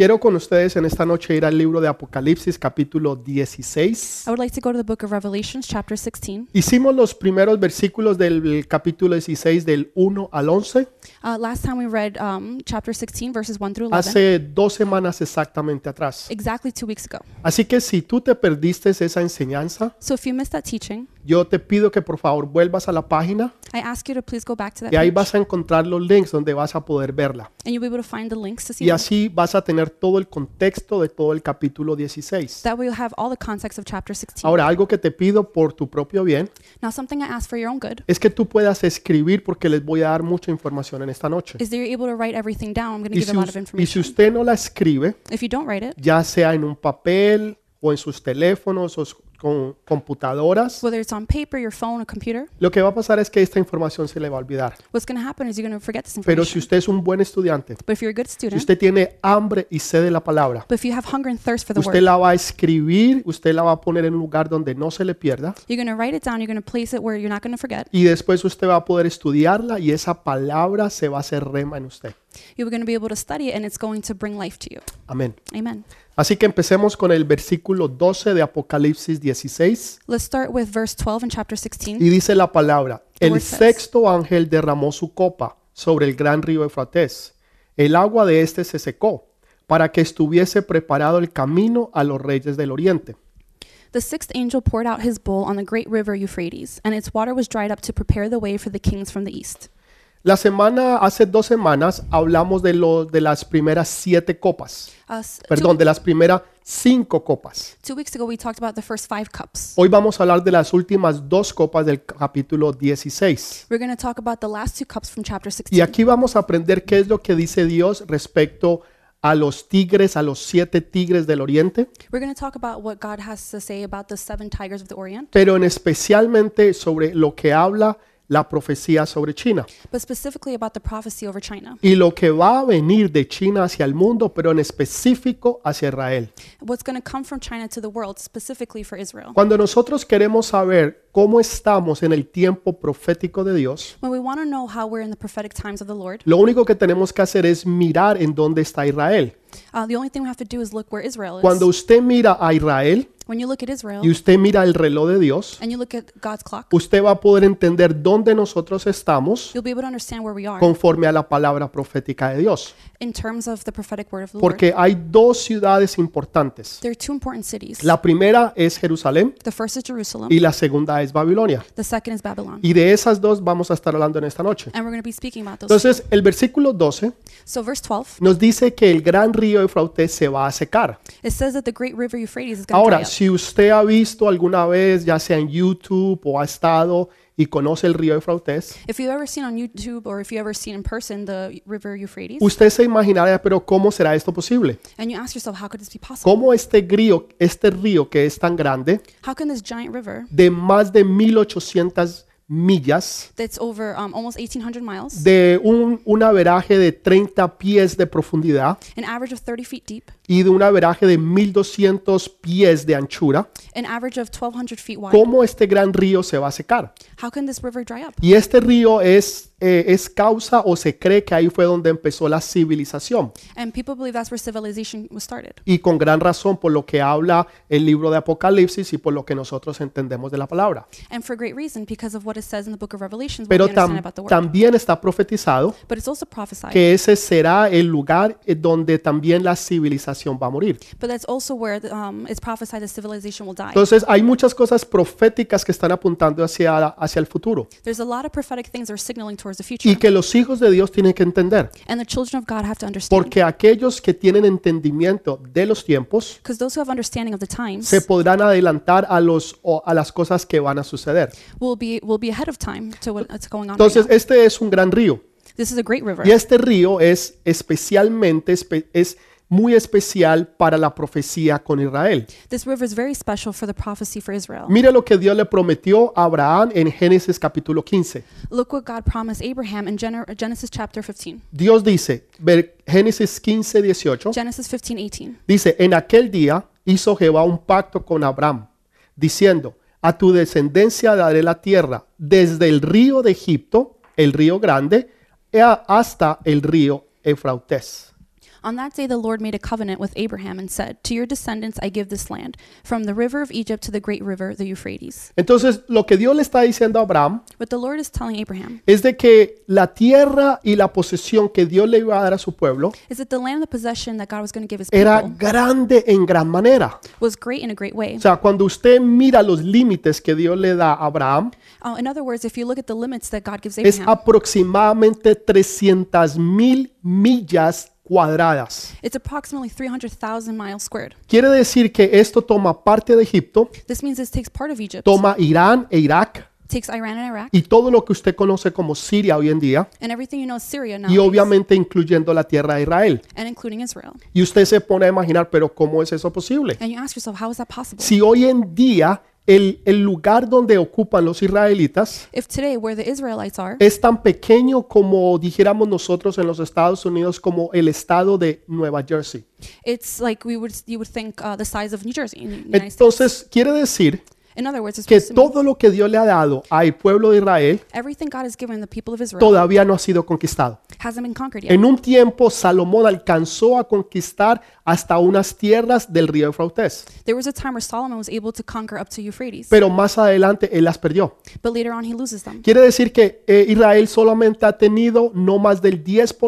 Quiero con ustedes en esta noche ir al libro de Apocalipsis capítulo 16. I would like to go to the book of Revelations, chapter 16. Hicimos los primeros versículos del capítulo 16 del 1 al 11 Last time we read chapter 16, verses 1 through 11, hace 2 semanas exactamente atrás. exactly 2 weeks ago. Así que si tú te perdiste esa enseñanza, So if you missed that teaching, yo te pido que por favor vuelvas a la página I ask you to please go back to that y ahí page, vas a encontrar los links donde vas a poder verla. and you'll be able to find the links to see Y them. así vas a tener todo el contexto de todo el capítulo 16. That way you'll have all the context of chapter 16. Ahora, algo que te pido por tu propio bien Now something I ask for your own good es que tú puedas escribir porque les voy a dar mucha información en esta noche. is that you're able to write everything down. I'm going to Y give si, a lot of y si information. usted no la escribe, If you don't write it, ya sea en un papel o en sus teléfonos o con computadoras, whether it's on paper, your phone, or computer, lo que va a pasar es que esta información se le va a olvidar. what's going to happen is you're going to forget this Pero si information. usted es un buen estudiante, But if you're a good si student, usted tiene hambre y sed de la palabra, but if you have hunger and thirst for the usted word, la va a escribir, usted la va a poner en un lugar donde no se le pierda you're going to write it down, you're going to place it where you're not going to forget. y después usted va a poder estudiarla y esa palabra se va a hacer rema en usted. You're going to be able to study it, and it's going to bring life to you. Amén. Amen. Así que empecemos con el versículo 12 de Apocalipsis 16 Let's start with verse 12 in chapter 16. y dice la palabra: el word says, sexto ángel derramó su copa sobre el gran río Eufrates. El agua de este se secó para que estuviese preparado el camino a los reyes del oriente. The sixth angel poured out his bowl on the great river Euphrates, and its water was dried up to prepare the way for the kings from the east. Hace 2 semanas hablamos de las primeras 7 copas, de las primeras 5 copas. 2 weeks ago, we talked about the first 5 cups. Hoy vamos a hablar de las últimas 2 copas del capítulo 16. We're going to talk about the last 2 cups from chapter 16. Y aquí vamos a aprender qué es lo que dice Dios respecto a los tigres, a los 7 tigres del oriente, We're going to talk about what God has to say about the 7 tigers of the Orient, pero especialmente sobre lo que habla la profecía sobre China but specifically about the prophecy over China, y lo que va a venir de China hacia el mundo, pero en específico hacia Israel. what's going to come from China to the world, specifically for Israel. Cuando nosotros queremos saber cómo estamos en el tiempo profético de Dios, When we want to know how we're in the prophetic times of the Lord, lo único que tenemos que hacer es mirar en dónde está Israel. the only thing we have to do is look where Israel is. Cuando usted mira a Israel When you look at Israel y usted mira el reloj de Dios, and you look at God's clock, usted va a poder entender dónde nosotros estamos you'll be able to understand where we are conforme a la palabra profética de Dios. in terms of the prophetic word of the Lord. Porque hay 2 ciudades importantes. There are 2 important cities. La primera es Jerusalén The first is Jerusalem, y la segunda es Babilonia. the second is Babylon. Y de esas 2 vamos a estar hablando en esta noche. And we're going to be speaking about those. Entonces, el versículo 12 So verse 12, nos dice que el gran río Eufrates se va a secar. it says that the great river Euphrates is going to Ahora, dry up. si usted ha visto alguna vez, ya sea en YouTube o ha estado y conoce el río Eufrates, If you've ever seen on YouTube or if you've ever seen in person the river Euphrates, usted se imaginará, pero ¿cómo será esto posible? and you ask yourself, how could this be possible? ¿Cómo este río que es tan grande, How can this giant river de más de 1800 millas, that's over almost 1,800 miles, de un averaje de 30 pies de profundidad an average of 30 feet deep, y de un averaje de 1200 pies de anchura, an average of 1,200 feet wide, cómo este gran río se va a secar? how can this river dry up? Y este río es causa o se cree que ahí fue donde empezó la civilización. And people believe that's where civilization was started. Y con gran razón por lo que habla el libro de Apocalipsis y por lo que nosotros entendemos de la palabra. And for great reason, because of what it says in the book of Revelations, what Pero we understand about the word. también está profetizado But it's also prophesied. que ese será el lugar donde también la civilización va a morir. But that's also where it's prophesied that civilization will die. Entonces hay muchas cosas proféticas que están apuntando hacia el futuro There's a lot of prophetic things that are signaling towards the future. y que los hijos de Dios tienen que entender. And the children of God have to understand. Porque aquellos que tienen entendimiento de los tiempos Because those who have understanding of the times se podrán adelantar a las cosas que van a suceder. will be ahead of time to what's going on Entonces, right now. este es un gran río This is a great river. y este río es muy especial para la profecía con Israel. This river is very special for the prophecy for Israel. Mire lo que Dios le prometió a Abraham en Génesis capítulo 15. Look what God promised Abraham in Genesis chapter 15. Dios dice, Génesis 15, 18, Genesis 15:18. dice, en aquel día hizo Jehová un pacto con Abraham, diciendo, a tu descendencia daré la tierra, desde el río de Egipto, el río grande, hasta el río Eufrates. On that day the Lord made a covenant with Abraham and said, "To your descendants I give this land, from the river of Egypt to the great river, the Euphrates." Entonces, lo que Dios le está diciendo a Abraham What the Lord is telling Abraham es de que la tierra y la posesión que Dios le iba a dar a su pueblo is that the land and the possession that God was going to give his era people grande en gran manera. was great in a great way. O sea, cuando usted mira los límites que Dios le da a Abraham, In other words, if you look at the limits that God gives es Abraham, aproximadamente 300,000 millas cuadradas. it's approximately 300,000 miles squared. Quiere decir que esto toma parte de Egipto, This means this takes part of Egypt, toma Irán e Irak takes Iran and Iraq, y todo lo que usted conoce como Siria hoy en día, and everything you know is Syria y nowadays, obviamente incluyendo la tierra de Israel. and including Israel. Y usted se pone a imaginar, pero ¿cómo es eso posible? And you ask yourself, how is that possible? Si hoy en día el lugar donde ocupan los israelitas If today, where the Israelites are, es tan pequeño como dijéramos nosotros en los Estados Unidos como el estado de Nueva Jersey. it's like you would think the size of New Jersey in the United States. Entonces quiere decir In other words, it's que supposed to mean todo lo que Dios le ha dado al pueblo de Israel everything God has given the people of Israel todavía no ha sido conquistado. hasn't been conquered yet. En un tiempo Salomón alcanzó a conquistar hasta unas tierras del río Eufrates, There was a time where Solomon was able to conquer up to Euphrates, pero más adelante él las perdió. but later on he loses them. Quiere decir que Israel solamente ha tenido no más del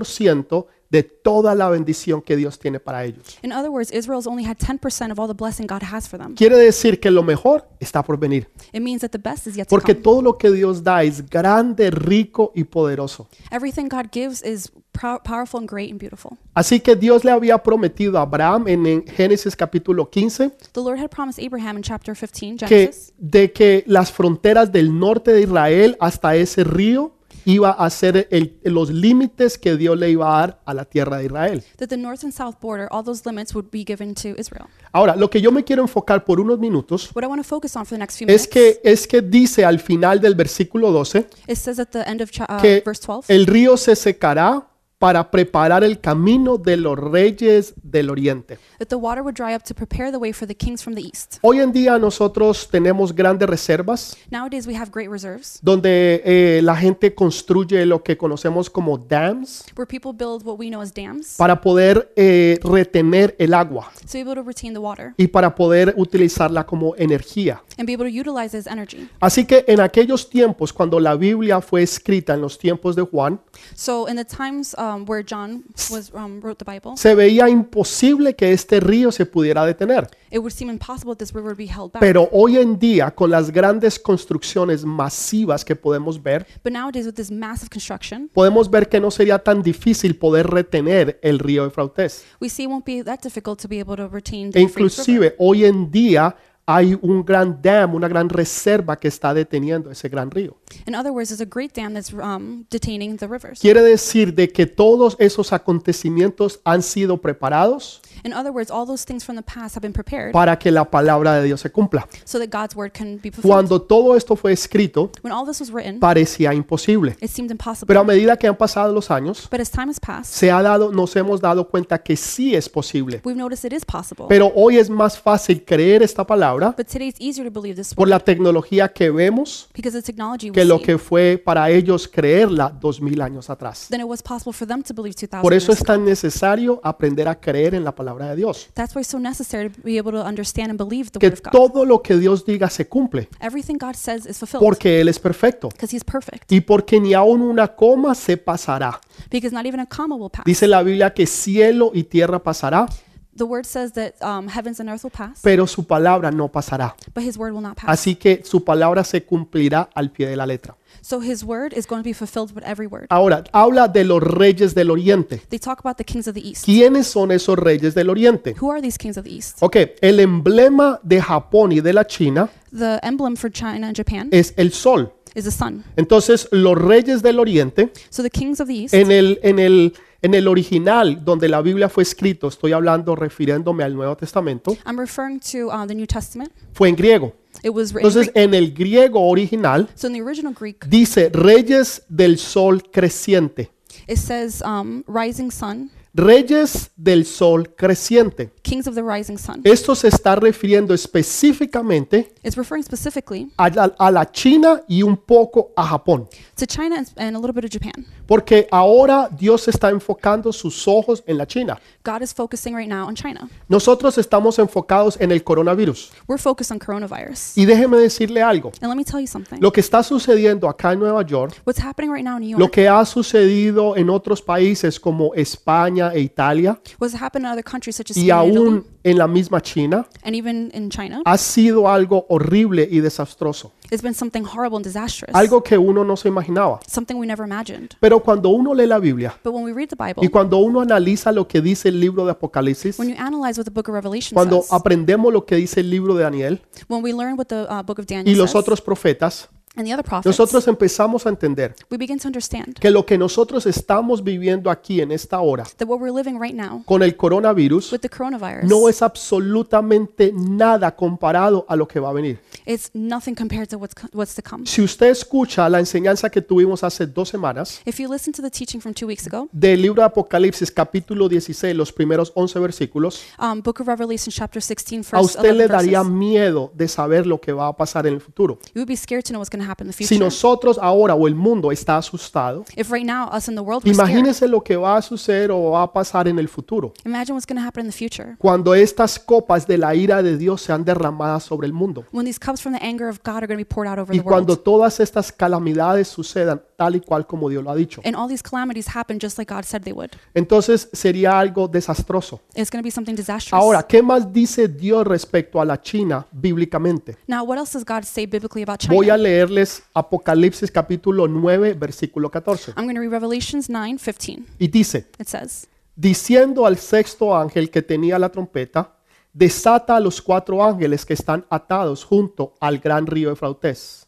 10% de toda la bendición que Dios tiene para ellos. In other words, Israel's only had 10% of all the blessing God has for them. Quiere decir que lo mejor está por venir, It means that the best is yet to porque come. todo lo que Dios da es grande, rico y poderoso. Everything God gives is powerful and great and beautiful. Así que Dios le había prometido a Abraham en Génesis capítulo 15 The Lord had promised Abraham in chapter 15, que, Genesis, de que las fronteras del norte de Israel hasta ese río iba a ser los límites que Dios le iba a dar a la tierra de Israel. that the north and south border, all those limits would be given to Israel. Ahora, lo que yo me quiero enfocar por unos minutos What I want to focus on for the next few es minutes, que dice al final del versículo 12 it says at the end of que verse 12, el río se secará para preparar el camino de los reyes del oriente. that the water would dry up to prepare the way for the kings from the east. Hoy en día nosotros tenemos grandes reservas Nowadays we have great reserves donde la gente construye lo que conocemos como dams where people build what we know as dams para poder retener el agua to be able to retain the water y para poder utilizarla como energía. and be able to utilize it as energy. Así que en aquellos tiempos, cuando la Biblia fue escrita en los tiempos de Juan, So in the times where John wrote the Bible, se veía imposible que este río se pudiera detener. it would seem impossible that this river would be held back. Pero hoy en día, con las grandes construcciones masivas que podemos ver, But nowadays with this massive construction, podemos ver que no sería tan difícil poder retener el río Eufrates. we see it won't be that difficult to be able to retain E the Euphrates River. inclusive hoy en día hay un gran dam, una gran reserva que está deteniendo ese gran río. In other words, there's a great dam that's detaining the rivers. Quiere decir de que todos esos acontecimientos han sido preparados In other words, all those things from the past have been prepared para que la palabra de Dios se cumpla. so that God's word can be fulfilled. Cuando todo esto fue escrito, When all this was written, parecía imposible. it seemed impossible. Pero a medida que han pasado los años, But as time has passed, nos hemos dado cuenta que sí es posible. we've noticed it is possible. Pero hoy es más fácil creer esta palabra But today it's easier to believe this por word la tecnología que vemos because the technology we que lo see que fue para ellos creerla 2000 años atrás. than it was possible for them to believe 2,000 Por eso years es ago. tan necesario aprender a creer en la palabra de Dios. That's why it's so necessary to be able to understand and believe the Que word of God. todo lo que Dios diga se cumple, Everything God says is fulfilled porque Él es perfecto because He's perfect. y porque ni aun una coma se pasará. Because not even a comma will pass. Dice la Biblia que cielo y tierra pasará, The word says that heavens and earth will pass, pero su palabra no pasará. but His word will not pass. Así que su palabra se cumplirá al pie de la letra. So His word is going to be fulfilled with every word. Ahora, habla de los reyes del oriente. They talk about the kings of the east. ¿Quiénes son esos reyes del oriente? Who are these kings of the east? Ok, el emblema de Japón y de la China The emblem for China and Japan es el sol. is the sun. Entonces, los reyes del oriente, So the kings of the east, en el original donde la Biblia fue escrito, estoy hablando refiriéndome al Nuevo Testamento, I'm referring to the New Testament. fue en griego. It was written in Entonces, Greek. en el griego original So in the original Greek, dice reyes del sol creciente, it says rising sun, Reyes del sol creciente. kings of the rising sun. Esto se está refiriendo específicamente It's referring specifically a la China y un poco a Japón. to China and a little bit of Japan. Porque ahora Dios está enfocando sus ojos en la China. God is focusing right now on China. Nosotros estamos enfocados en el coronavirus. We're focused on coronavirus. Y déjeme decirle algo. And let me tell you something. Lo que está sucediendo acá en Nueva York, What's happening right now in New lo York, que ha sucedido en otros países como España e Italia what's happened in other countries such as y Spain and Italy, aún en la misma China, and even in China, ha sido algo horrible y desastroso. it's been something horrible and disastrous, Algo que uno no se imaginaba. something we never imagined. Pero cuando uno lee la Biblia But when we read the y Bible, cuando uno analiza lo que dice el libro de Apocalipsis, when you analyze what the book of Revelation cuando says, aprendemos lo que dice el libro de Daniel when we learn what the book of y Daniel los says, otros profetas, and the other prophets, nosotros empezamos a entender we begin to understand que lo que nosotros estamos viviendo aquí en esta hora that what we're living right now con el coronavirus with the coronavirus, no es absolutamente nada comparado a lo que va a venir. it's nothing compared to what's to come. Si usted escucha la enseñanza que tuvimos hace 2 semanas If you listen to the teaching from 2 weeks ago, del libro de Apocalipsis capítulo 16, los primeros 11 versículos, book of Revelation chapter 16, a first usted 11 le daría verses, miedo de saber lo que va a pasar en el futuro. you would be scared to know what's going to happen in the Si future. nosotros ahora o el mundo está asustado, If right now us in the world we're scared, imagínese lo que va a suceder o va a pasar en el futuro, imagine what's going to happen in the future cuando estas copas de la ira de Dios sean derramadas sobre el mundo when these cups from the anger of God are going to be poured out over y the cuando world, todas estas calamidades sucedan tal y cual como Dios lo ha dicho. and all these calamities happen just like God said they would. Entonces sería algo desastroso. It's going to be something disastrous. Ahora, ¿qué más dice Dios respecto a la China bíblicamente? Now, what else does God say biblically about Voy a China? leerles Apocalipsis capítulo 9, versículo 14. I'm going to read Revelations 9:15. Y dice, It says, diciendo al sexto ángel que tenía la trompeta, desata a los 4 ángeles que están atados junto al gran río Eufrates.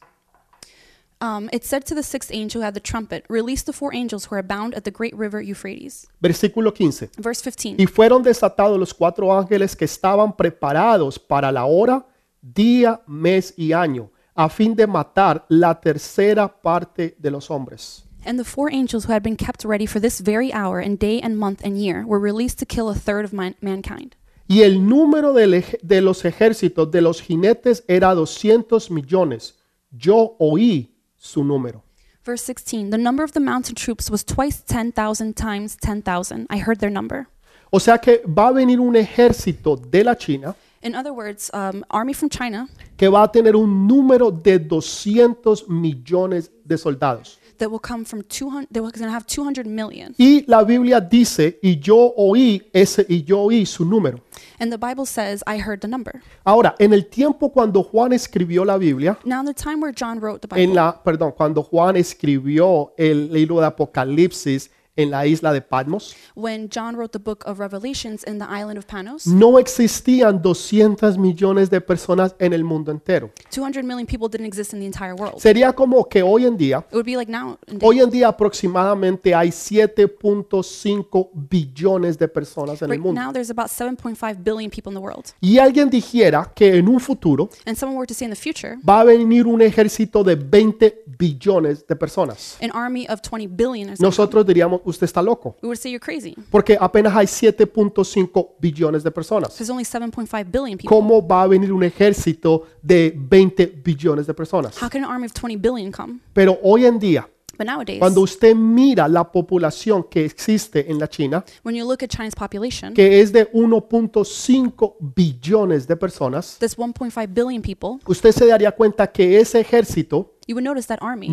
it said to the sixth angel who had the trumpet, release the 4 angels who are bound at the great river Euphrates. Versículo 15. Verse 15. Y fueron desatados los 4 ángeles que estaban preparados para la hora, día, mes y año, a fin de matar la tercera parte de los hombres. And the 4 angels who had been kept ready for this very hour and day and month and year were released to kill a third of mankind. Y el número de los ejércitos de los jinetes era 200 millones. Yo oí su número. Verse 16. The number of the mountain troops was twice 10,000 times 10,000. I heard their number. O sea que va a venir un ejército de la China In other words, army from China que va a tener un número de 200 millones de soldados. that will come from 200, they were going to have 200 million. Y la Biblia dice, y yo oí su número. And the Bible says, I heard the number. Ahora, en el tiempo cuando Juan escribió la Biblia, Now, in the time where John wrote the Bible, cuando Juan escribió el libro de Apocalipsis en la isla de Patmos, when John wrote the book of Revelations in the island of Panos, no existían 200 millones de personas en el mundo entero. 200 million people didn't exist in the entire world. Sería como que hoy en día, It would be like now, aproximadamente hay 7.5 billones de personas en el right mundo. now there's about 7.5 billion people in the world. Y alguien dijera que en un futuro And someone were to say in the future, va a venir un ejército de 20 billones de personas. an army of 20 billion or something, Nosotros diríamos, usted está loco, we would say you're crazy. porque apenas hay 7.5 billones de personas. There's only 7.5 billion people. ¿Cómo va a venir un ejército de 20 billones de personas? How can an army of 20 billion come? Pero hoy en día, But nowadays, cuando usted mira la población que existe en la China, when you look at China's population, que es de 1.5 billones de personas, that's 1.5 billion people, usted se daría cuenta que ese ejército you would notice that army,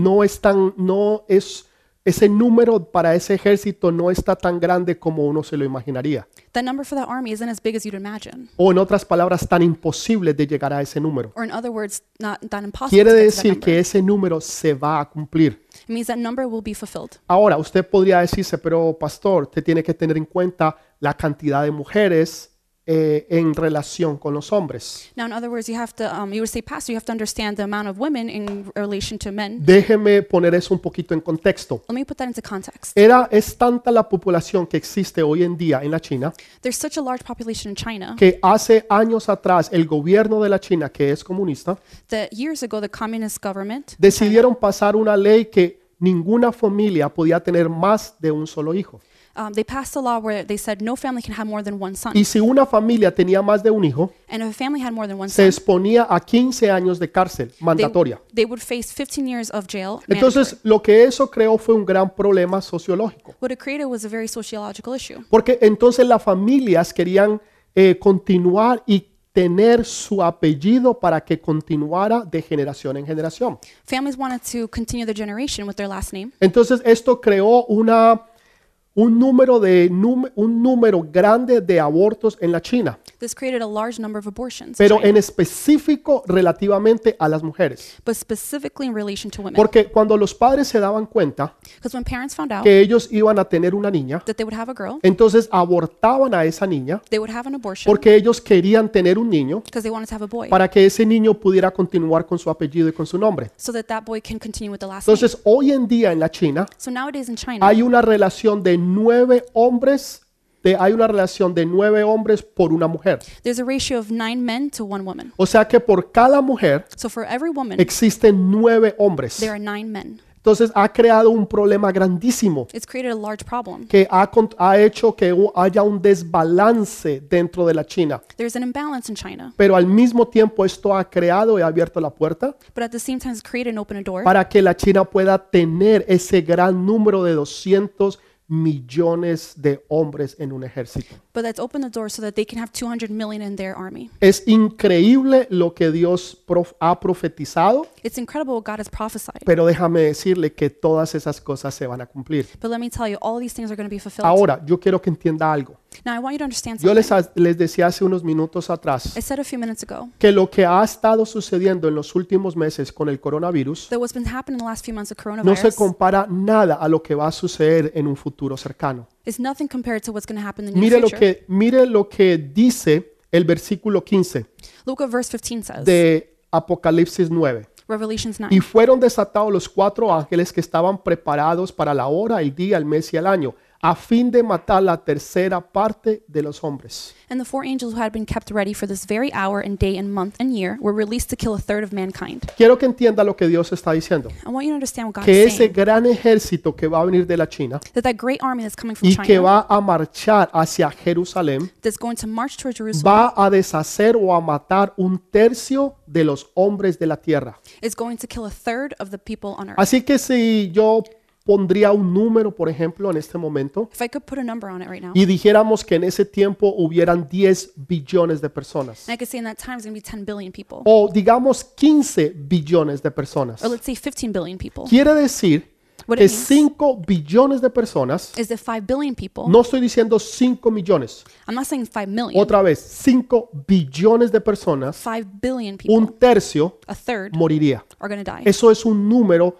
ese número para ese ejército no está tan grande como uno se lo imaginaría. that number for that army isn't as big as you'd imagine. O en otras palabras, tan imposible de llegar a ese número. Or in other words, not that impossible Quiere to get to that decir number. que ese número se va a cumplir. It means that number will be fulfilled. Ahora, usted podría decirse, pero pastor, usted tiene que tener en cuenta la cantidad de mujeres en relación con los hombres. Now, in other words, you have to, you would say, Pastor, you have to understand the amount of women in relation to men. Déjeme poner eso un poquito en contexto. Let me put that into context. Es tanta la población que existe hoy en día en la China There's such a large population in China que hace años atrás el gobierno de la China, que es comunista, that years ago the communist government decidieron pasar una ley que ninguna familia podía tener más de un solo hijo. They passed a law where they said no family can have more than one son. Y si una familia tenía más de un hijo, And if a family had more than one se son, exponía a 15 años de cárcel mandatoria. they would face 15 years of jail. Entonces, lo que eso creó fue un gran problema sociológico. What it created was a very sociological issue. Porque entonces las familias querían continuar y tener su apellido para que continuara de generación en generación. Families wanted to continue their generation with their last name. Entonces esto creó un número grande de abortos en la China, This created a large number of abortions, in pero China, en específico relativamente a las mujeres. but specifically in relation to women. Porque cuando los padres se daban cuenta Because when parents found out que ellos iban a tener una niña, that they would have a girl, entonces abortaban a esa niña they would have an abortion porque ellos querían tener un niño because they wanted to have a boy, para que ese niño pudiera continuar con su apellido y con su nombre. so that that boy can continue with the last name. Entonces, hoy en día en la China So nowadays in China, hay una relación de 9 hombres, por una mujer. there's a ratio of 9 men to 1 woman. O sea que por cada mujer So for every woman, existen 9 hombres. there are 9 men. Entonces ha creado un problema grandísimo It's created a large problem. que ha hecho que haya un desbalance dentro de la China. There's an imbalance in China, Pero al mismo tiempo esto ha creado y ha abierto la puerta but at the same time it's created and opened a door para que la China pueda tener ese gran número de 200 millones de hombres en un ejército. but that's opened the door so that they can have 200 million in their army. Es increíble lo que Dios ha profetizado, It's incredible what God has prophesied. pero déjame decirle que todas esas cosas se van a cumplir. But let me tell you, all these things are going to be fulfilled. Ahora, yo quiero que entienda algo. Now I want you to understand Yo something. les decía hace unos minutos atrás I said a few minutes ago que lo que ha estado sucediendo en los últimos meses con el coronavirus that what's been happening in the last few months of no se coronavirus compara nada a lo que va a suceder en un futuro cercano. is nothing compared to what's going to happen in the near future. Mire lo que dice el versículo 15 Look what verse 15 says. de Apocalipsis 9. Revelations 9. Y fueron desatados los 4 ángeles que estaban preparados para la hora, el día, el mes y el año, a fin de matar la tercera parte de los hombres. And the 4 angels who had been kept ready for this very hour and day and month and year were released to kill a third of mankind. Quiero que entienda lo que Dios está diciendo. I want you to understand what God Que is ese saying. gran ejército que va a venir de la China That great army that's coming from y que China, va a marchar hacia Jerusalén that's going to march toward Jerusalem, va a deshacer o a matar 1/3 de los hombres de la tierra. is going to kill a third of the people on earth. Así que si yo pondría un número, por ejemplo, en este momento, If I could put a number on it right now, y dijéramos que en ese tiempo hubieran 10 billones de personas, and I could say in that time it's going to be 10 billion people, o digamos 15 billones de personas, or let's say 15 billion people. quiere decir What que it means 5 billones de personas, is that 5 billion people, no estoy diciendo 5 millones, I'm not saying 5 million, otra vez, 5 billones de personas, 5 billion people, 1/3 a third, moriría. are going to die. Eso es un número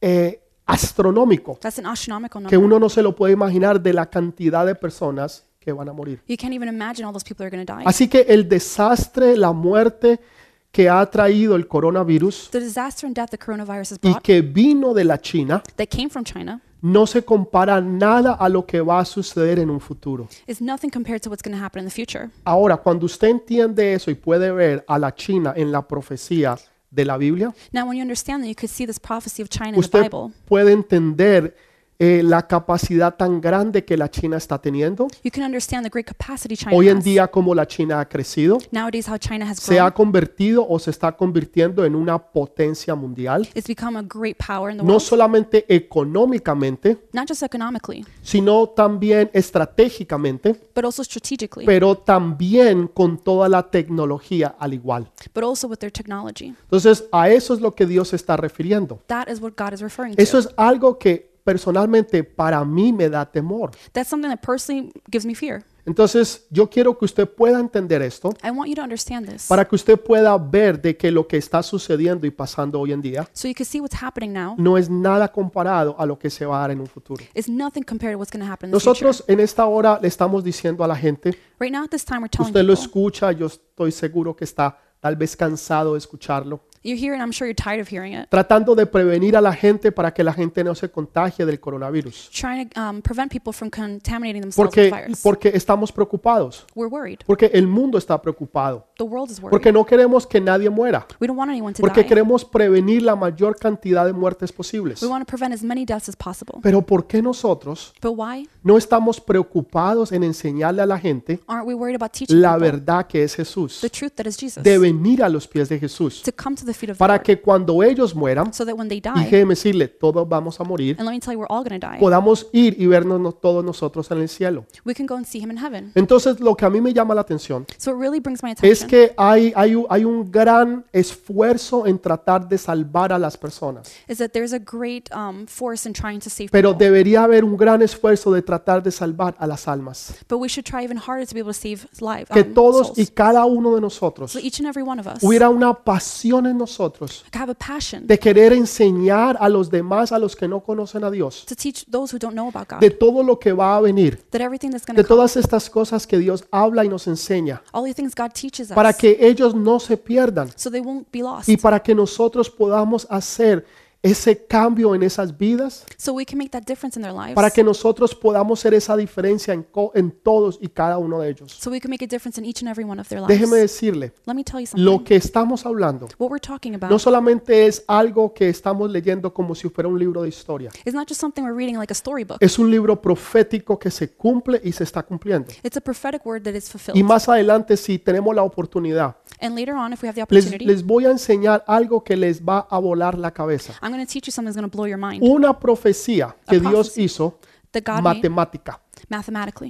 astronómico That's an astronomical que number. uno no se lo puede imaginar de la cantidad de personas que van a morir. You can't even imagine all those people that are going to die. Así que el desastre, la muerte que ha traído el coronavirus The disaster and death the coronavirus has y brought que vino de la China that came from China no se compara nada a lo que va a suceder en un futuro. is nothing compared to what's going to happen in the future. Ahora, cuando usted entiende eso y puede ver a la China en la profecía de la Biblia, Now, when you understand that, you could see this prophecy of China in the usted Bible. puede entender la capacidad tan grande que la China está teniendo. You can understand the great capacity China Hoy en has. día como la China ha crecido, Nowadays, how China has se ha grown. convertido o se está convirtiendo en una potencia mundial, It's become a great power in the no world, solamente económicamente, not just economically, sino también estratégicamente, but also strategically, pero también con toda la tecnología al igual. but also with their technology. Entonces, a eso es lo que Dios se está refiriendo. That is what God is referring Eso to. es algo que personalmente para mí me da temor. That's something that personally gives me fear. Entonces, yo quiero que usted pueda entender esto I want you to understand this para que usted pueda ver de que lo que está sucediendo y pasando hoy en día so you can see what's happening now no es nada comparado a lo que se va a dar en un futuro. is nothing compared to what's going to happen in the future. Nosotros en esta hora le estamos diciendo a la gente, Right now, at this time, we're telling usted lo people, escucha, yo estoy seguro que está tal vez cansado de escucharlo, you hear it, I'm sure you're tired of hearing it, tratando de prevenir a la gente para que la gente no se contagie del coronavirus. trying to prevent people from contaminating themselves with the virus. Porque estamos preocupados, We're worried porque el mundo está preocupado. the world is worried. porque no queremos que nadie muera, We don't want anyone to porque die. queremos prevenir la mayor cantidad de muertes posibles. We want to prevent as many deaths as possible. Pero ¿por qué nosotros But why no estamos preocupados en enseñarle a la gente aren't we worried about teaching la people verdad que es Jesús? the truth that is Jesus? De venir a los pies de Jesús, To come to the feet of the para Lord. que cuando ellos mueran, So that when they y die, déjeme decirle, todos vamos a morir, and let me tell you, we're all going to die, podamos ir y vernos todos nosotros en el cielo. we can go and see him in heaven. Entonces, lo que a mí me llama la atención So it really brings my es attention que hay un gran esfuerzo en tratar de salvar a las personas, is that there's a great force in trying to save pero people. debería haber un gran esfuerzo de tratar de salvar a las almas. But we should try even harder to be able to save lives, Que todos y souls. cada uno de nosotros So each and every one of us hubiera una pasión en nosotros have a passion de querer enseñar a los demás, a los que no conocen a Dios, to teach those who don't know about God de todo lo que va a venir, that everything that's going de to come, todas estas cosas que Dios habla y nos enseña, all the things God teaches para us, que ellos no se pierdan so they won't be lost, y para que nosotros podamos hacer ese cambio en esas vidas, so we can make that difference in their lives, para que nosotros podamos hacer esa diferencia en todos y cada uno de ellos. so we can make a difference in each and every one of their lives. Déjeme decirle, Let me tell you lo something. que estamos hablando What we're talking about no solamente es algo que estamos leyendo como si fuera un libro de historia, is not just something we're reading like a storybook. es un libro profético que se cumple y se está cumpliendo. It's a prophetic word that is Y fulfilled. más adelante, si tenemos la oportunidad, And later on, if we have the opportunity, les voy a enseñar algo que les va a volar la cabeza. I'm going to teach you something that's going to blow your mind. Una profecía que Dios prophecy hizo That God made matemática, mathematically,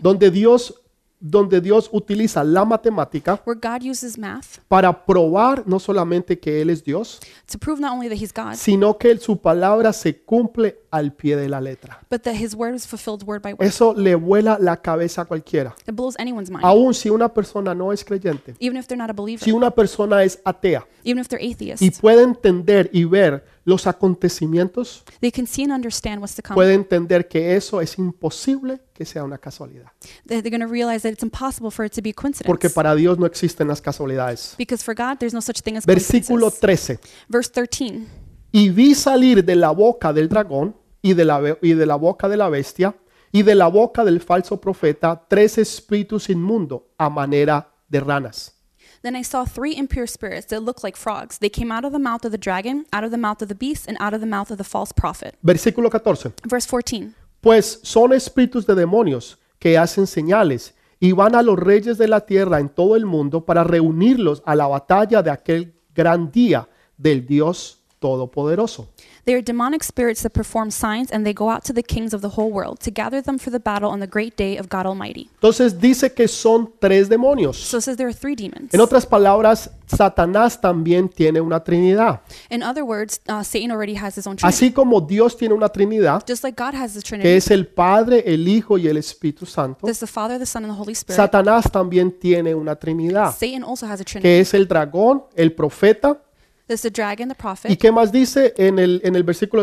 donde Dios utiliza la matemática where God uses math para probar no solamente que Él es Dios, to prove not only that He's God, sino que su palabra se cumple al pie de la letra. but that His word is fulfilled word by word. Eso le vuela la cabeza a cualquiera. It blows anyone's mind, Aún si una persona no es creyente, even if they're not a believer, si una persona es atea even if they're atheists. y puede entender y ver los acontecimientos, They can see and understand what's to come. puede entender que eso es imposible que sea una casualidad. They're going to realize that it's impossible for it to be a coincidence. Porque para Dios no existen las casualidades. Because for God, there's no such thing as Versículo coincidences. 13. Verse 13. Y vi salir de la boca del dragón y de la boca de la bestia y de la boca del falso profeta 3 espíritus inmundos a manera de ranas. Then I saw 3 impure spirits that looked like frogs. They came out of the mouth of the dragon, out of the mouth of the beast, and out of the mouth of the false prophet. Versículo 14. Verse 14. Pues son espíritus de demonios que hacen señales y van a los reyes de la tierra en todo el mundo para reunirlos a la batalla de aquel gran día del Dios Todopoderoso. They are demonic spirits that perform signs, and they go out to the kings of the whole world to gather them for the battle on the great day of God Almighty. Entonces dice que son 3 demonios. So it says there are 3 demons. En otras palabras, Satanás también tiene una trinidad. In other words, Satan already has his own trinity. Así como Dios tiene una trinidad, Just like God has his que trinity, es el Padre, el Hijo y el Espíritu Santo, there's the Father, the Son, and the Holy Spirit. Satanás también tiene una trinidad, Satan also has a trinity. que es el dragón, el profeta. There's the dragon, the ¿Y prophet. qué más dice en el versículo?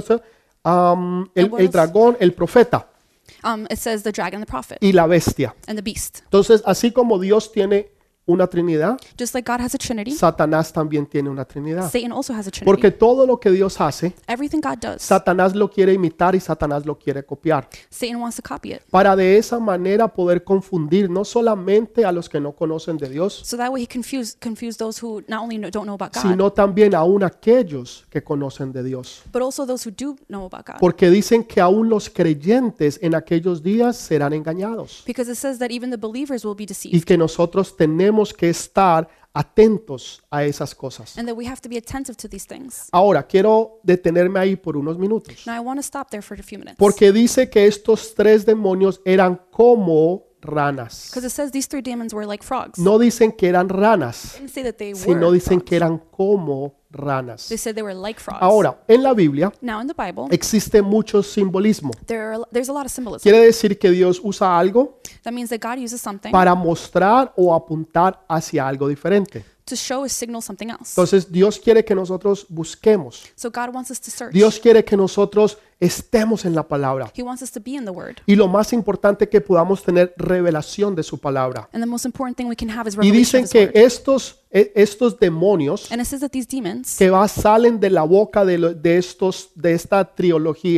El dragón, el profeta It says the dragon, the prophet, y la bestia. and the beast. Entonces, así como Dios tiene una trinidad, Just like God has a trinity, Satanás también tiene una trinidad. Satan also has a trinity. Porque todo lo que Dios hace, Everything God does, Satanás lo quiere imitar y Satanás lo quiere copiar. Satan wants to copy it. Para de esa manera poder confundir no solamente a los que no conocen de Dios, So that way he confuse those who not only don't know about God, sino también aún aquellos que conocen de Dios. but also those who do know about God. Porque dicen que aún los creyentes en aquellos días serán engañados Because it says that even the believers will be y deceived, que nosotros tenemos que estar atentos a esas cosas. and that we have to be attentive to these things. Ahora, quiero detenerme ahí por unos minutos, Now I want to stop there for a few minutes. porque dice que estos 3 demonios eran como ranas. Because it says these 3 demons were like frogs. No dicen que eran ranas, It didn't say that they sino were dicen frogs. que eran como ranas. They said they were like frogs. Ahora, en la Biblia Now in the Bible, existe mucho simbolismo. there's a lot of symbolism. Quiere decir que Dios usa algo That means that God uses something para mostrar o apuntar hacia algo diferente. to show or signal something else. Entonces, Dios quiere que nosotros busquemos. So God wants us to search. Dios quiere que nosotros estemos en la palabra. He wants us to be in the Word. Y lo más importante que podamos tener revelación de su palabra. And the most important thing we can have is Y revelation dicen of His que Word. estos demonios And it says that these demons que salen de la boca de esta trilogía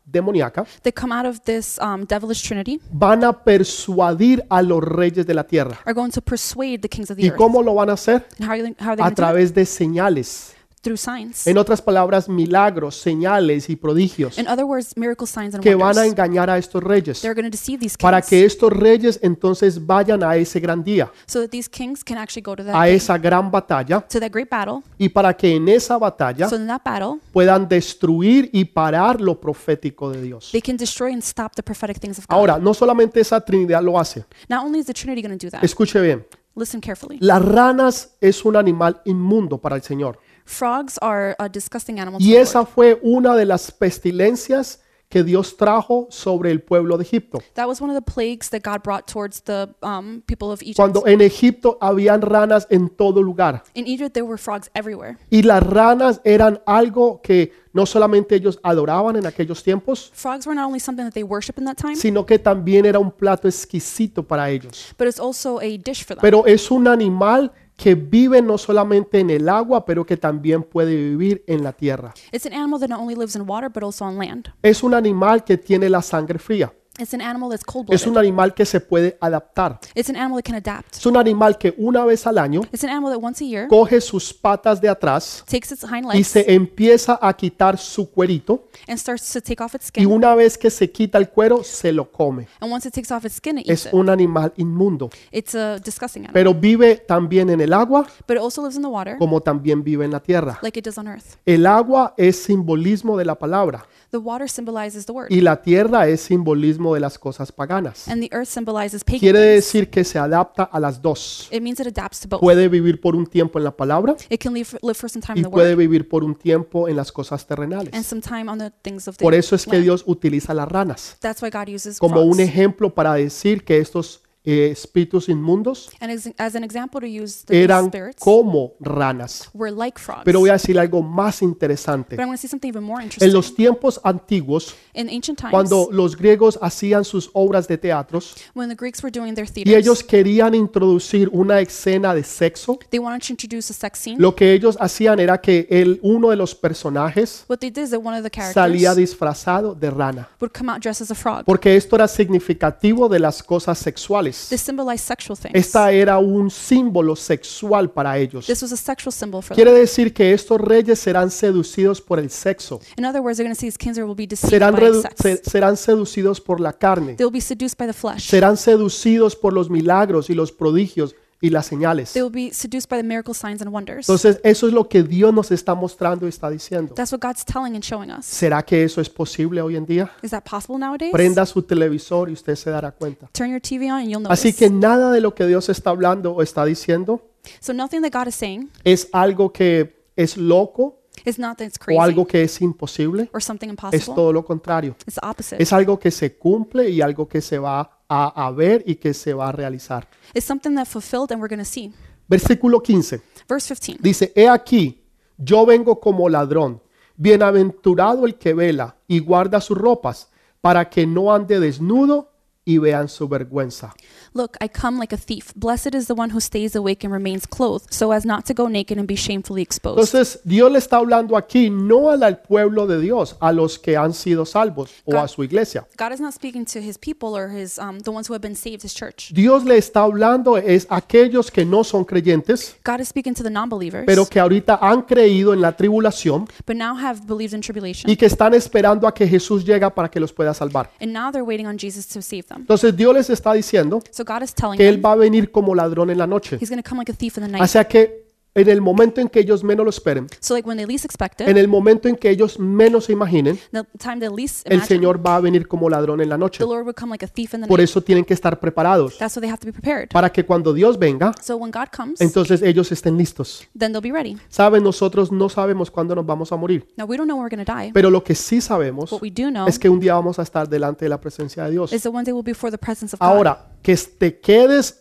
demoníaca that come out of this devilish trinity van a persuadir a los reyes de la tierra. are going to persuade the kings of the ¿Y earth. cómo lo van a hacer? And how are they A going to do it? través de señales. Through signs. En otras palabras, milagros, señales y prodigios In other words, miracle signs and que van a wonders. engañar a estos reyes They're going to deceive these para kings que estos reyes entonces vayan a ese gran día, so that these kings can actually go to that a day, esa gran batalla, to that great battle. y para que en esa batalla So in that battle, puedan destruir y parar lo profético de Dios. they can destroy and stop the prophetic things of God. Ahora, no solamente esa Trinidad lo hace. Not only is the Trinity going to do that, Escuche bien, listen carefully. las ranas es un animal inmundo para el Señor. Frogs are a disgusting animal to Y the esa Lord. fue una de las pestilencias que Dios trajo sobre el pueblo de Egipto. That was one of the plagues that God brought towards the people of Egypt. Cuando en Egipto habían ranas en todo lugar. In Egypt, there were frogs everywhere. Y las ranas eran algo que no solamente ellos adoraban en aquellos tiempos, Frogs were not only something that they worship in that time, sino que también era un plato exquisito para ellos. but it's also a dish for them. Pero es un animal que vive no solamente en el agua, pero que también puede vivir en la tierra. It's an animal that not only lives in water, but also on land. Es un animal que tiene la sangre fría. It's an animal that's Es cold-blooded. un animal que se puede adaptar. It's an animal that can adapt. Es un animal que una vez al año It's an animal that once a year coge sus patas de atrás takes its hind y legs se empieza a quitar su cuerito, and starts to take off its y skin. una vez que se quita el cuero se lo come. And once it takes off its skin, it eats Es it. un animal inmundo, It's a disgusting animal. pero vive también en el agua But it also lives in the water como también vive en la tierra. like it does on earth. El agua es simbolismo de la palabra The water symbolizes the word, y la tierra es simbolismo de las cosas paganas. and the earth symbolizes pagan Quiere things. decir que se adapta a las dos. It means it adapts to both. Puede vivir por un tiempo en la palabra It can live for some time y in the puede word vivir por un tiempo en las cosas and terrenales. some time on the things of the Por eso es que land. Dios utiliza las ranas That's why God uses como un frogs. ejemplo para decir que estos espíritus inmundos And as an example to use the eran spirits como ranas. were like frogs. Pero voy a decir algo más interesante. But I'm going to say something even more En interesting. los tiempos antiguos, In ancient times, cuando los griegos hacían sus obras de teatros when the Greeks were doing their y theaters, ellos querían introducir una escena de sexo, they wanted to introduce a sex scene. lo que ellos hacían era que uno de los personajes What they did is that one of the salía characters disfrazado de rana, would come out dressed as a frog. porque esto era significativo de las cosas sexuales. This symbolized sexual things. Esta era un símbolo sexual para ellos. This was a sexual symbol for Quiere them. decir que estos reyes serán seducidos por el sexo, In other words, they're going to see these kings will be deceived serán, by sex. serán seducidos por la carne, They will be seduced by the flesh. serán seducidos por los milagros y los prodigios y las señales. They will be seduced by the miracle signs and wonders. Entonces, eso es lo que Dios nos está mostrando y está diciendo. That's what God's telling and showing us. ¿Será que eso es posible hoy en día? Is that possible nowadays? Prenda su televisor y usted se dará cuenta. Turn your TV on and you'll Así notice. que nada de lo que Dios está hablando o está diciendo So nothing that God is saying es algo que es loco is not that it's o crazy algo que es imposible. or something Es impossible. todo lo contrario. It's the opposite. Es algo que se cumple y algo que se va a ver y que se va a realizar. It's something that fulfilled and we're going to see. Versículo 15 Verse 15. dice, he aquí, yo vengo como ladrón, bienaventurado el que vela y guarda sus ropas, para que no ande desnudo y vean su vergüenza. Look, I come like a thief. Blessed is the one who stays awake and remains clothed, so as not to go naked and be shamefully exposed. Entonces, Dios le está hablando aquí no al pueblo de Dios, a los que han sido salvos o a su iglesia. God is not speaking to his people or his the ones who have been saved, his church. Dios le está hablando es a aquellos que no son creyentes, God is speaking to the non-believers, pero que ahorita han creído en la tribulación but now have believed in tribulation, y que están esperando a que Jesús llegue para que los pueda salvar. and now they're waiting on Jesus to save them. Entonces, Dios les está diciendo So God is telling que Él them va a venir como ladrón en la noche. he's going to come like a thief in the night. O sea que en el momento en que ellos menos lo esperen, So like when they least expect en it, el momento en que ellos menos se imaginen, the time they least el imagine, Señor va a venir como ladrón en la noche. the Lord would come like a thief in the Por night. eso tienen que estar preparados That's why they have to be prepared. para que cuando Dios venga, So when God comes, entonces ellos estén listos. then they'll be ready. Saben, nosotros no sabemos cuándo nos vamos a morir, Now we don't know when we're going to die. pero lo que sí sabemos What we do know es que un día vamos a estar delante de la presencia de Dios. is that one day we'll be before the presence of God. Ahora, que te quedes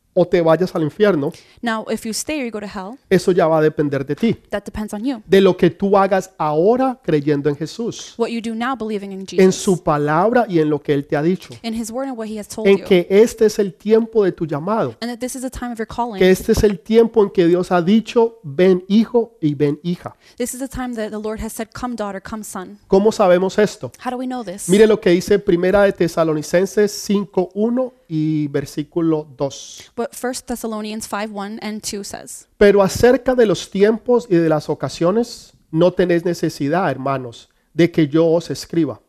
o te vayas al infierno, Now, if you stay or you go to hell, eso ya va a depender de ti, that depends on you. de lo que tú hagas ahora creyendo en Jesús, What you do now believing in en Jesus, su palabra y en lo que Él te ha dicho, in his word and what he has told en you, que este es el tiempo de tu llamado, and that this is the time of your que calling. este es el tiempo en que Dios ha dicho, ven hijo y ven hija. This is the time that the Lord has said, come daughter, come son. ¿Cómo sabemos esto? How do we know this? Mire lo que dice Primera de Tesalonicenses 5:1 y versículo 2. What 1 Thessalonians 5:1 and 2 says. Pero acerca de los tiempos y de las ocasiones, no tenéis necesidad, hermanos, de que yo os escriba.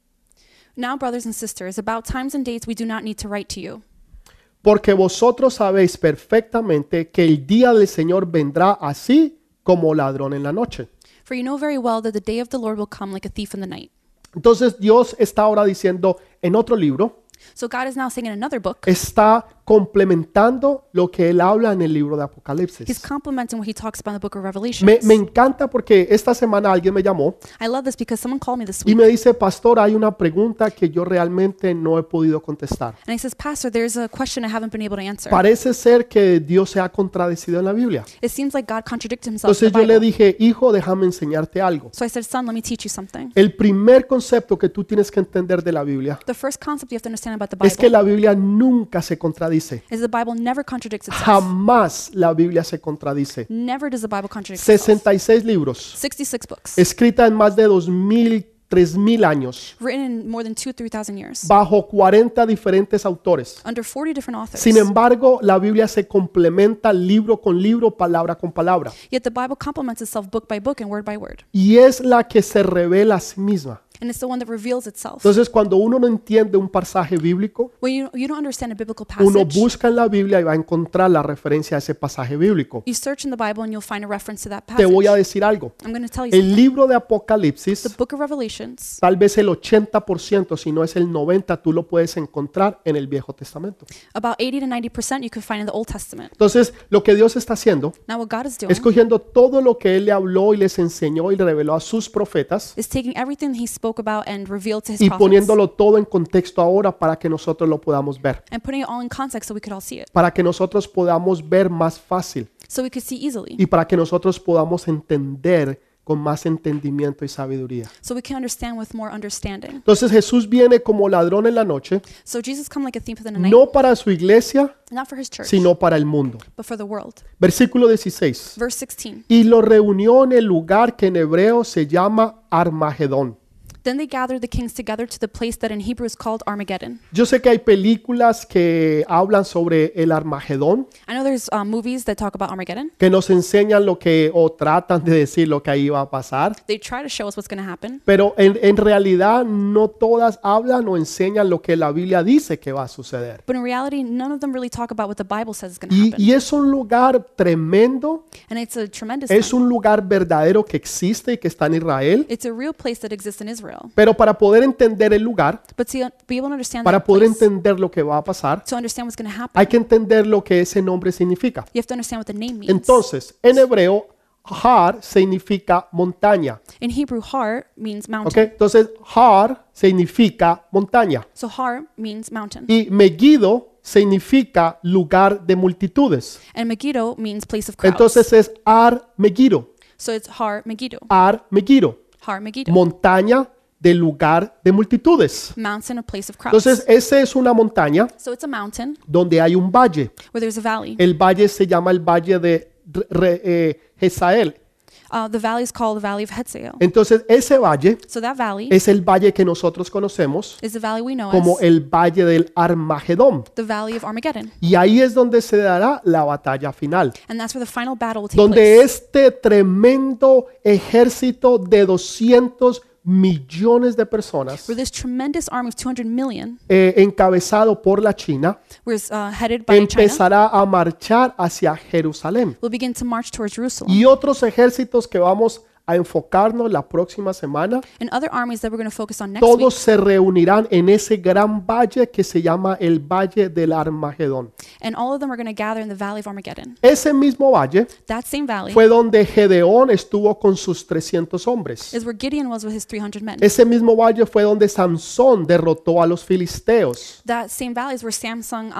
Now, brothers and sisters, about times and dates we do not need to write to you. Porque vosotros sabéis perfectamente que el día del Señor vendrá así como ladrón en la noche. For you know very well that the day of the Lord will come like a thief in the night. Entonces Dios está ahora diciendo en otro libro, So God is now saying in another book, está complementando lo que Él habla en el libro de he's Apocalipsis. complementing what he talks about in the book of Revelation. Me encanta porque esta semana alguien me llamó I love this because someone called me this y week me dice, pastor, hay una pregunta que yo realmente no he podido contestar. and he says, Pastor, there's a question I haven't been able to answer. Parece ser que Dios se ha contradecido en la Biblia. It seems like God contradicted himself in Entonces the yo le Bible. dije, hijo, déjame enseñarte algo. So I said, son, let me teach you something. El primer concepto que tú tienes que entender de la Biblia The first concept you have to understand about the es que Bible la Biblia nunca se contradice. is the Bible never contradicts itself. Jamás la Biblia se contradice. Never does the Bible contradict itself. 66 libros, 66 books, escrita en más de 2000, 3000 años, written in more than 2,000 to 3,000 years, bajo 40 diferentes autores. under 40 different authors. Sin embargo, la Biblia se complementa libro con libro, palabra con palabra. Yet the Bible complements itself book by book and word by word. Y es la que se revela a sí misma. And it's the one that reveals itself. Entonces, cuando uno no entiende un pasaje bíblico, When you don't understand a biblical uno passage, busca en la Biblia y va a encontrar la referencia a ese pasaje bíblico. you search in the Bible and you'll find a reference to that Te passage. voy a decir algo. I'm going to tell you El something. libro de The Apocalipsis, book of Revelations, tal vez el 80%, si no es el 90%, tú lo puedes encontrar en el Viejo Testamento. about 80 to 90% you can find in the Old Testament. Entonces, lo que Dios está haciendo Now what God is doing es cogiendo todo lo que Él le habló y les enseñó y reveló a sus profetas is taking everything he spoke about and revealed to his y prophets poniéndolo todo en contexto ahora para que nosotros lo podamos ver, and putting it all in context so we could all see it, para que nosotros podamos ver más fácil so we could see easily, y para que nosotros podamos entender con más entendimiento y sabiduría. so we can understand with more understanding. Entonces Jesús viene como ladrón en la noche, So Jesus come like a thief in the night, no para su iglesia, not for his church, sino para el mundo. but for the world. Versículo 16. Verse 16. Y lo reunió en el lugar que en hebreo se llama Armagedón. Then they gathered the kings together to the place that in Hebrew is called Armageddon. Yo sé que hay películas que hablan sobre el Armagedón, I know there's movies that talk about Armageddon. que nos enseñan lo que o tratan de decir lo que ahí va a pasar, They try to show us what's going to happen, pero en realidad no todas hablan o enseñan lo que la Biblia dice que va a suceder. but in reality, none of them really talk about what the Bible says is going to Y, happen. y es un lugar tremendo, And it's a tremendous es one. un lugar verdadero que existe y que está en Israel, It's a real place that exists in Israel. pero para poder entender el lugar, But to be able to understand para that poder place, entender lo que va a pasar, to understand what's going to happen, hay que entender lo que ese nombre significa. you have to understand what the name means. Entonces, en hebreo, Har significa montaña. In Hebrew, Har means ¿Ok? mountain. Entonces, Har significa montaña. So Har means mountain. Y Megiddo significa lugar de multitudes. And Megiddo means place of crowds. Entonces es Ar Megiddo. So it's Har Megiddo. Ar Megiddo. Har Megiddo. Montaña de lugar de multitudes. Mountain, a place of crowds. Entonces, esa es una montaña So it's a mountain donde hay un valle. where there's a valley. El valle se llama el valle de Jezael. The valley is called the Valley of Hetzael. Entonces, ese valle So that valley es el valle que nosotros conocemos is the valley we know como as el valle del Armagedón. the Valley of Armageddon. Y ahí es donde se dará la batalla final, And that's where the final battle will take donde place. este tremendo ejército de 200 millones de personas, Where this tremendous army of 200 million encabezado por la China, was headed by China empezará a marchar hacia Jerusalén. will begin to march towards Jerusalem. Y otros ejércitos que vamos a enfocarnos la próxima semana, and other armies that we're going to focus on next week. todos se reunirán en ese gran valle que se llama el Valle del Armagedón. And all of them are going to gather in the valley of Armageddon. Ese mismo valle That same valley fue donde Gedeón estuvo con sus 300 hombres. is where Gideon was with his 300 men. Ese mismo valle fue donde Sansón derrotó a los filisteos, That same valley is where Samson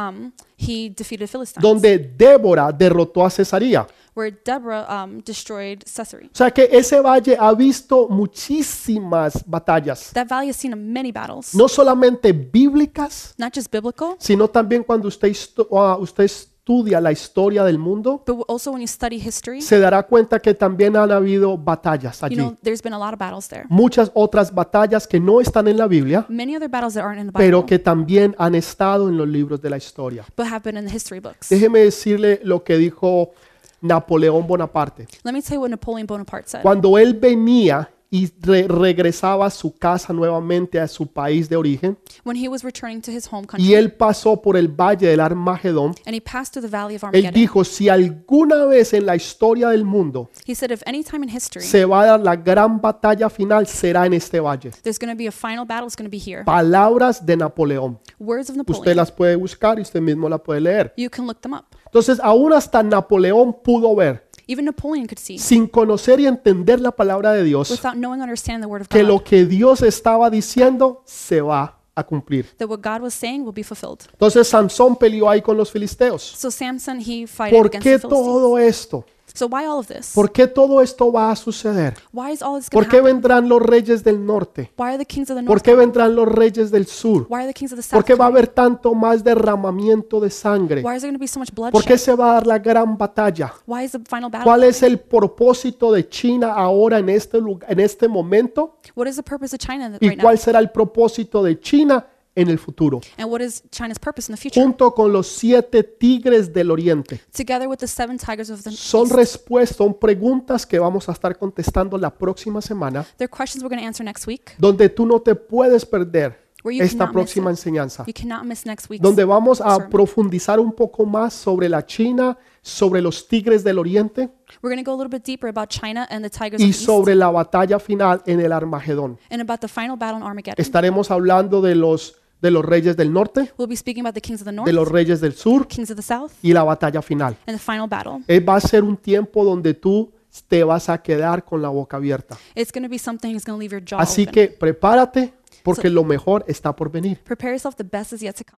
he defeated Philistines. donde Débora derrotó a Cesaría. Where Deborah destroyed Sisera. O sea que ese valle ha visto muchísimas batallas, That valley has seen many battles, no solamente bíblicas, not just biblical, sino también cuando usted estudia la historia del mundo, but also when you study history, se dará cuenta que también han habido batallas you allí. know, there's been a lot of battles there. Muchas otras batallas que no están en la Biblia, Many other battles that aren't in the pero Bible, que también han estado en los libros de la historia. but have been in the history books. Déjeme decirle lo que dijo Napoleón Bonaparte. Let me tell you what Napoleon Bonaparte said. Cuando él venía y regresaba a su casa nuevamente, a su país de origen, When he was returning to his home y country, él pasó por el valle del Armagedón, and he passed through the valley of él Armageddon, dijo, si alguna vez en la historia del mundo he said, if any time in history se va a dar la gran batalla final, será en este valle. there's going to be a final battle, it's going to be here. Palabras de Napoleón. Words of Usted Napoleon. las puede buscar y usted mismo la puede leer. You can look them up. Entonces, aún hasta Napoleón pudo ver, Even Napoleon could see, sin conocer y entender la palabra de Dios, without knowing, understand the word of que lo God, que Dios estaba diciendo se va a cumplir. that what God was saying will be fulfilled. Entonces Sansón peleó ahí con los filisteos. So Samson, he fought ¿Por against qué the Philistines. todo esto? So why all of this? ¿Por qué todo esto va a suceder? Why is all this going ¿Por to qué happen? vendrán los reyes del norte? Why are the kings of the ¿Por north qué coming? vendrán los reyes del sur? Why are the kings of the ¿Por south qué va a coming? haber tanto más derramamiento de sangre? Why is there going to be so much ¿Por qué bloodshed? se va a dar la gran batalla? Why is the final battle ¿Cuál es coming? el propósito de China ahora en este momento? What is the purpose of China ¿Y right now? cuál será el propósito de China en el futuro? And what is China's purpose in the future? Junto con los 7 tigres del oriente. Together with the 7 tigers of the Son east. respuestas, son preguntas que vamos a estar contestando la próxima semana, They're questions we're going to answer next week. donde tú no te puedes perder Where you esta cannot miss próxima it. enseñanza, You cannot miss next week's donde vamos a sermon. profundizar un poco más sobre la China, sobre los tigres del oriente We're going to go a little bit deeper about China and the tigers of y the east, sobre la batalla final en el Armagedón. and about the final battle in Armageddon. Estaremos hablando de los reyes del norte, We'll be speaking about the kings of the north, de los reyes del sur kings of the south, y la batalla final. and the final battle. Va a ser un tiempo donde tú te vas a quedar con la boca abierta. It's going to be something that's going to leave your jaw Así open. que prepárate porque lo mejor está por venir. Prepare yourself, the best is yet to come.